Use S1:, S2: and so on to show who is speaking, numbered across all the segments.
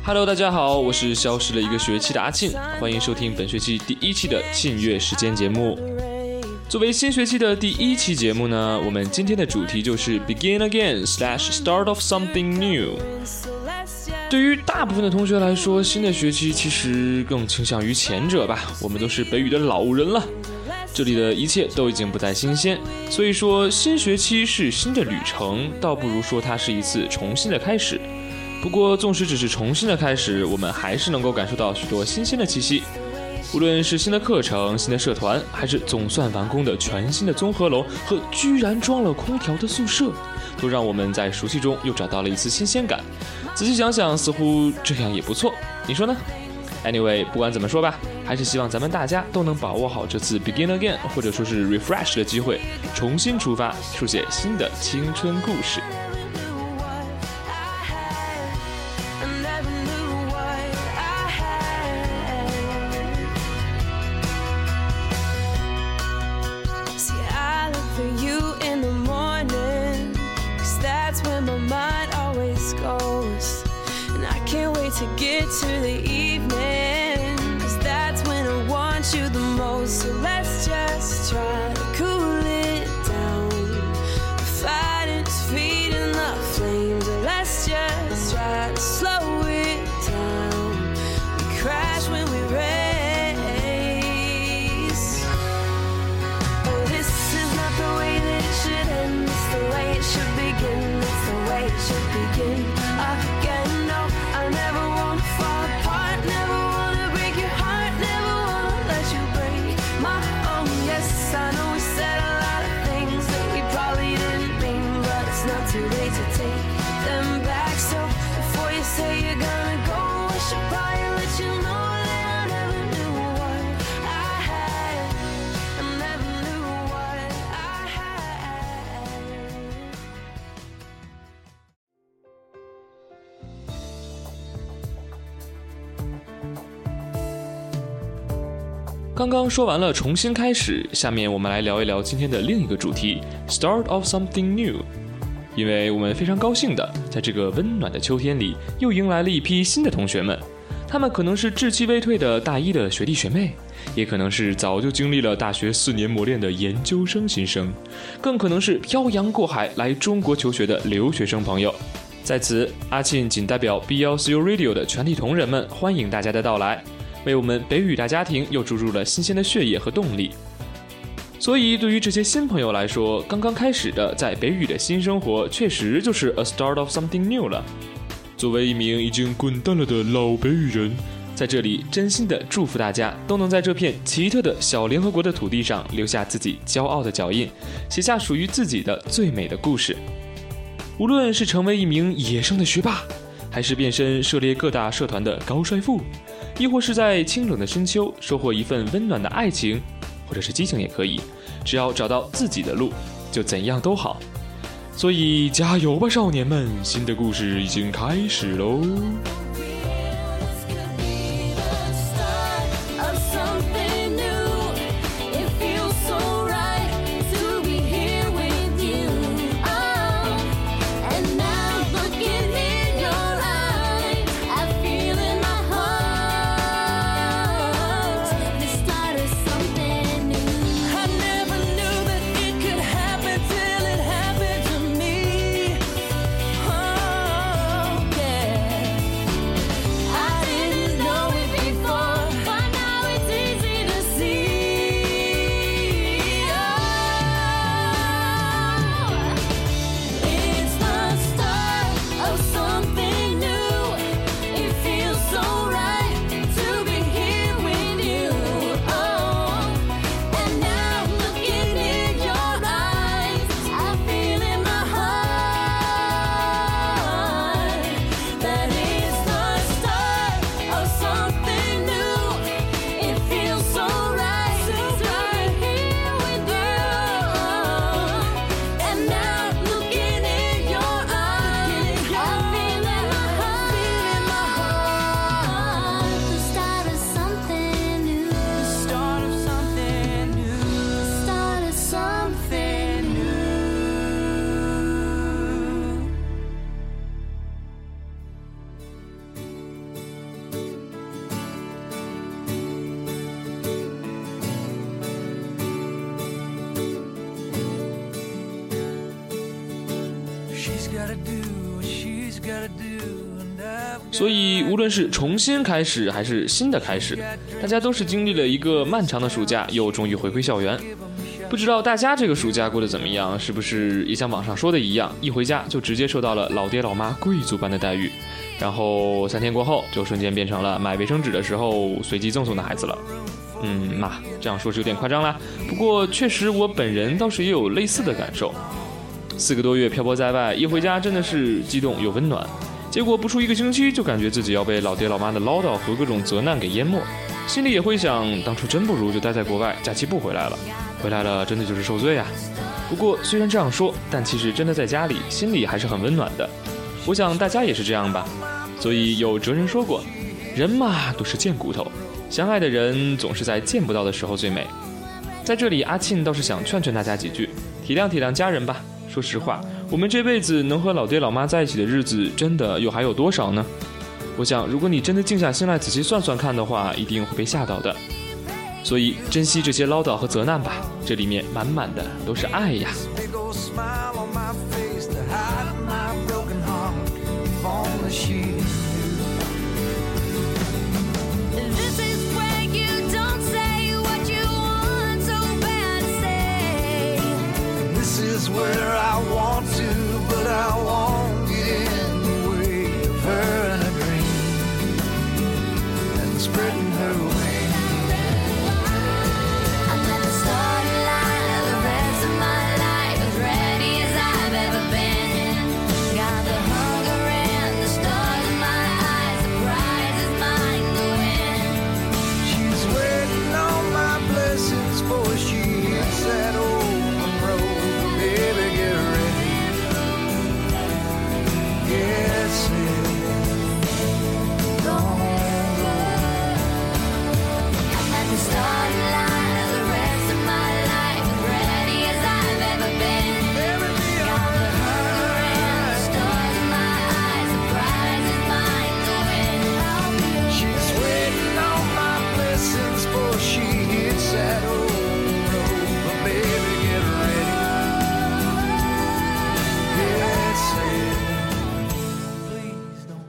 S1: Hello， 大家好，我是消失了一个学期的阿庆，欢迎收听本学期第1期的庆月时间节目。作为新学期的第1期节目呢，我们今天的主题就是 Begin Again / Start of Something New。 对于大部分的同学来说，新的学期其实更倾向于前者吧，我们都是北语的老人了，这里的一切都已经不再新鲜，所以说新学期是新的旅程，倒不如说它是一次重新的开始。不过纵使只是重新的开始，我们还是能够感受到许多新鲜的气息，无论是新的课程、新的社团，还是总算完工的全新的综合楼和居然装了空调的宿舍，都让我们在熟悉中又找到了一丝新鲜感。仔细想想，似乎这样也不错，你说呢？ Anyway， 不管怎么说吧，还是希望咱们大家都能把握好这次 Begin Again 或者说是 Refresh 的机会，重新出发，书写新的青春故事。
S2: To get to the evening, 'cause that's when I want you the most. So let's just try to cool it down. The fighting's feeding the flames. Let's just try to slow it down. We crash when we race. Oh, this is not the way that it should end. It's the way it should begin. It's the way it should begin again. No, I never wanna fall apart, never wanna break your heart, never wanna let you break my own. Yes, I know we said a lot of things that we probably didn't mean, but it's not too late to take them back. So before you say you're gonna go, I should probably let you know that I never knew what I had. I never knew what I had.
S1: 刚刚说完了重新开始，下面我们来聊一聊今天的另一个主题 Start of Something New。 因为我们非常高兴的在这个温暖的秋天里又迎来了一批新的同学们，他们可能是稚气未退的大一的学弟学妹，也可能是早就经历了大学4年磨练的研究生新生，更可能是漂洋过海来中国求学的留学生朋友。在此，阿庆仅代表 BLCU Radio 的全体同仁们欢迎大家的到来，为我们北语大家庭又注入了新鲜的血液和动力。所以对于这些新朋友来说，刚刚开始的在北语的新生活确实就是 a start of something new 了。作为一名已经滚蛋了的老北语人，在这里真心的祝福大家都能在这片奇特的小联合国的土地上留下自己骄傲的脚印，写下属于自己的最美的故事。无论是成为一名野生的学霸，还是变身涉猎各大社团的高帅富，亦或是在清冷的深秋收获一份温暖的爱情，或者是激情也可以，只要找到自己的路，就怎样都好。所以加油吧，少年们，新的故事已经开始喽。 所以无论是重新开始还是新的开始，大家都是经历了一个漫长的暑假，又终于回归校园。不知道大家这个暑假过得怎么样，是不是也像网上说的一样，一回家就直接受到了老爹老妈贵族般的待遇，然后3天过后就瞬间变成了买卫生纸的时候随机赠送的孩子了。这样说是有点夸张啦，不过确实我本人倒是也有类似的感受。4个多月漂泊在外，一回家真的是激动又温暖，结果不出1个星期就感觉自己要被老爹老妈的唠叨和各种责难给淹没，心里也会想，当初真不如就待在国外，假期不回来了，回来了真的就是受罪啊。不过虽然这样说，但其实真的在家里心里还是很温暖的，我想大家也是这样吧。所以有哲人说过，人嘛都是贱骨头，相爱的人总是在见不到的时候最美。在这里阿庆倒是想劝劝大家几句，体谅体谅家人吧。说实话，我们这辈子能和老爹老妈在一起的日子真的又还有多少呢？我想如果你真的静下心来仔细算算看的话，一定会被吓到的。所以珍惜这些唠叨和责难吧，这里面满满的都是爱呀。
S3: Where I want to, but I won't get in the way of her and her dream and spreading her wings.
S2: I'm at the starting line of the rest of my life, as ready as I've ever been. Got the hunger and the stars in my eyes, the prize is mine to win.
S3: She's waiting on my blessings for she hits that open road. Baby, get ready. Get set. Don't go.
S2: I'm at the starting line of the rest of my life, as ready as I've ever been. Got the hunger and the stars in my eyes, the prize is mine to win.
S3: She's waiting on my blessings for she hits that old road. But baby, get ready. Get set. Please don't.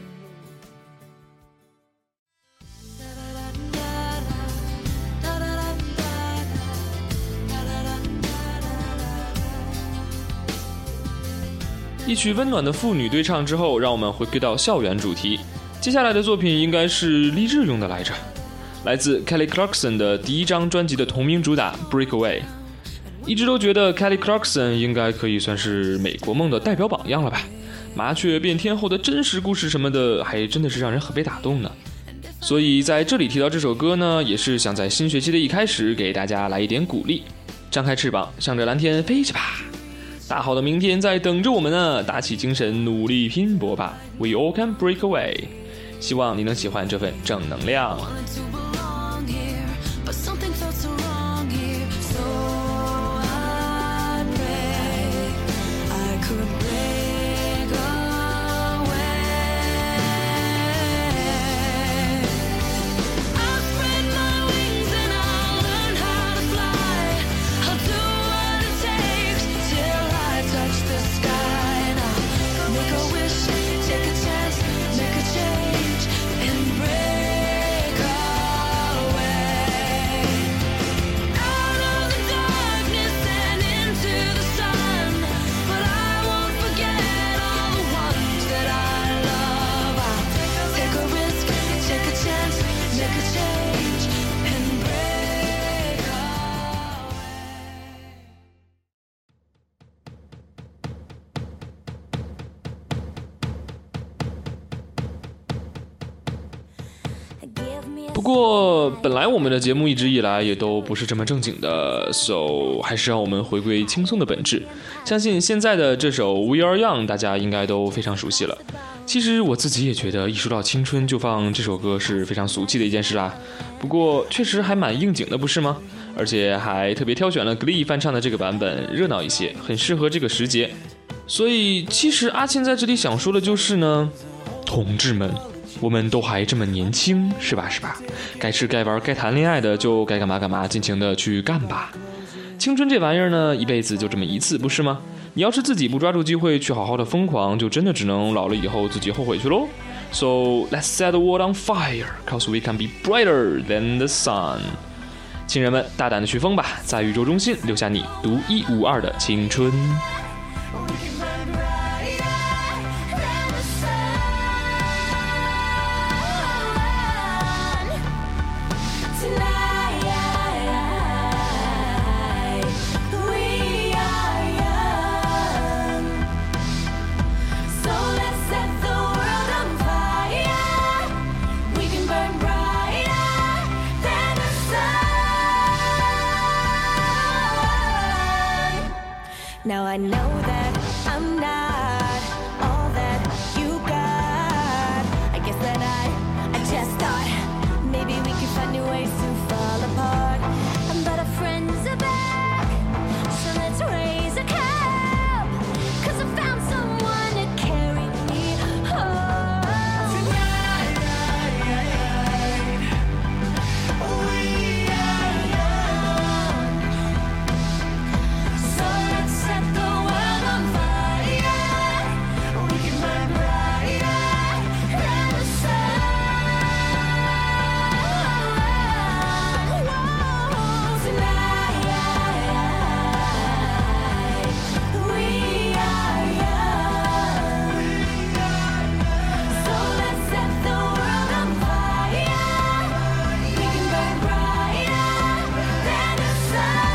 S1: 一曲温暖的妇女对唱之后，让我们回归到校园主题。接下来的作品应该是励志用的来着，来自 Kelly Clarkson 的第1张专辑的同名主打 Breakaway。 一直都觉得 Kelly Clarkson 应该可以算是美国梦的代表榜样了吧，麻雀变天后的真实故事什么的，还真的是让人很被打动呢。所以在这里提到这首歌呢，也是想在新学期的一开始给大家来一点鼓励，张开翅膀向着蓝天飞去吧，大好的明天在等着我们呢，打起精神努力拼搏吧， We all can break away。 希望你能喜欢这份正能量。
S2: Wanted to belong here, but something felt so wrong here. So I pray I could break away. I'll spread my wings and I'll learn how to fly. I'll do what it takes till I touch the sky. And I'll make a wish, take a chance, make a change, and break away. Out of the darkness and into the sun. But I won't forget all the ones that I love. I'll take a risk, take a chance, make a change, and break away.
S1: 不过本来我们的节目一直以来也都不是这么正经的， so 还是让我们回归轻松的本质。相信现在的这首 We Are Young 大家应该都非常熟悉了。其实我自己也觉得一说到青春就放这首歌是非常俗气的一件事啦，不过确实还蛮应景的不是吗？而且还特别挑选了 Glee 翻唱的这个版本，热闹一些，很适合这个时节。所以其实阿庆在这里想说的就是呢，同志们，我们都还这么年轻，是吧？该吃该玩该谈恋爱的就该干嘛干嘛，尽情的去干吧。 青春这玩意儿呢，一辈子就这么一次，不是吗？你要是自己不抓住机会去好好的疯狂，就真的只能老了以后自己后悔去喽。So let's set the world on fire, cause we can be brighter than the sun。亲人们，大胆的去疯吧，在宇宙中心留下你独一无二的青春。
S2: Now I know that I'm not all that you got. I guess that I just thought maybe we could find new ways to fall apart. But our friends are back, so let's raise a cup, 'cause I found someone to carry me home. Tonight, we are young, so let's set the world on fire. We can burn brighter than the sun. Whoa, tonight, we are young, so let's set the world on fire. We can burn brighter than the sun.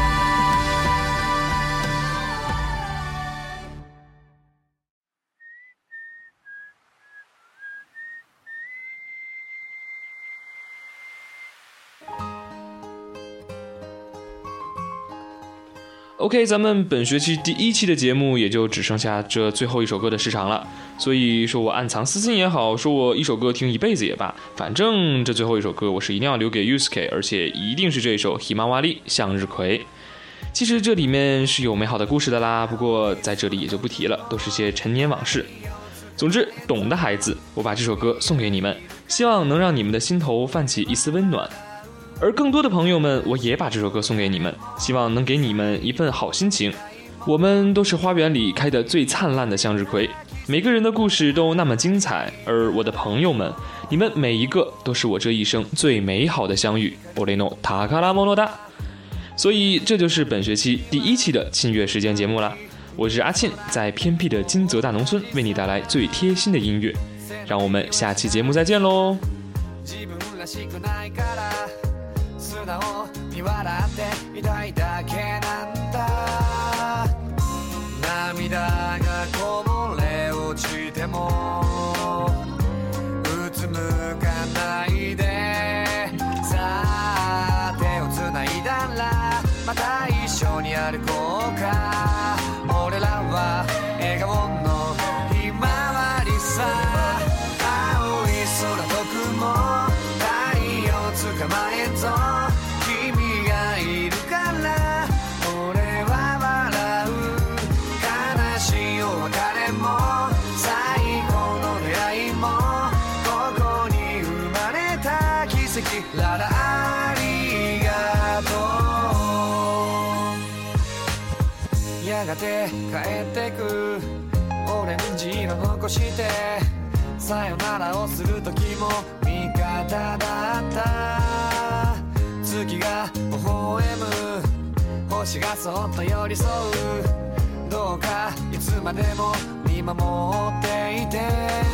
S1: OK， 咱们本学期第1期的节目也就只剩下这最后一首歌的时长了，所以说我暗藏私心也好，说我一首歌听一辈子也罢，反正这最后一首歌我是一定要留给 Yusuke， 而且一定是这首 Himawari 向日葵。其实这里面是有美好的故事的啦，不过在这里也就不提了，都是些陈年往事。总之，懂的孩子，我把这首歌送给你们，希望能让你们的心头泛起一丝温暖。而更多的朋友们，我也把这首歌送给你们，希望能给你们一份好心情。我们都是花园里开得最灿烂的向日葵，每个人的故事都那么精彩，而我的朋友们，你们每一个都是我这一生最美好的相遇。俺の宝物だ。所以这就是本学期第1期的沁乐时间节目啦。我是阿沁，在偏僻的金泽大农村为你带来最贴心的音乐。让我们下期节目再见喽。素直に笑っていたいだけなんだ。涙がこぼれ落ちてもうつむかないで、さあ手をつないだらまた一緒に歩こうか。俺らは笑顔のひまわりさ。青い空と雲、太陽捕まえんぞ。君がいるから俺は笑う。悲しいお別れも最高の出会いもここに生まれた奇跡。ララありがとう。やがて帰ってくオレンジ色残してさよならをする時も味方だった。月が微笑む星がそっと寄り添う。どうかいつまでも見守っていて。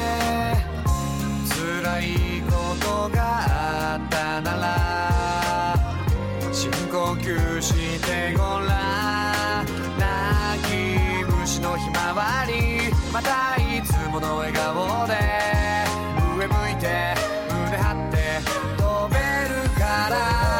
S1: 辛いことがあったなら深呼吸してごらん。泣き虫のひまわりまたいつもの笑顔で上向いて胸張って飛べるから。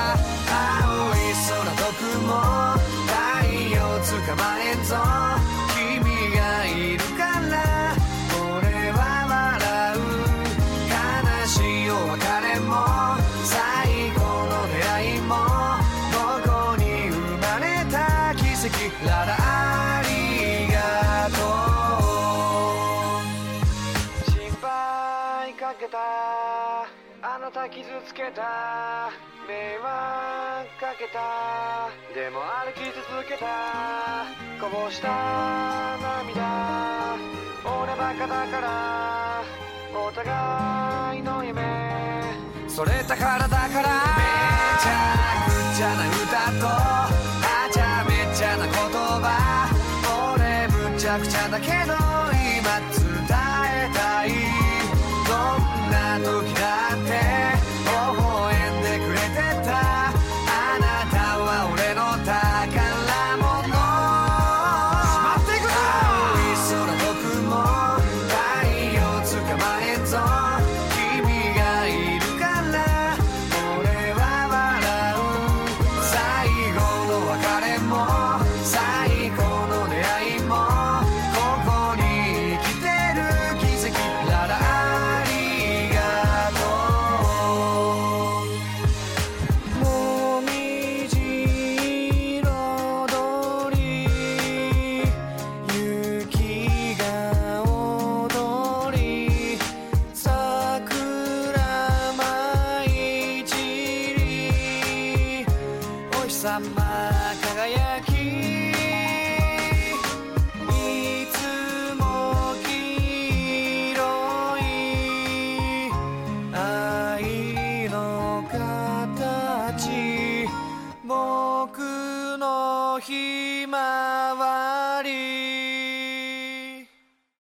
S1: 青い空と雲太陽捕まえんぞ。君がいるから俺は笑う。悲しいお別れも最高の出会いもここに生まれた奇跡。ララありがとう。心配かけた
S3: あなた傷つけた迷惑かけたでも歩き続けたこぼした涙俺バカだからお互いの夢それたからだからめちゃくちゃな歌とはちゃめちゃな言葉俺むちゃくちゃだけど今伝えたいどんな時だって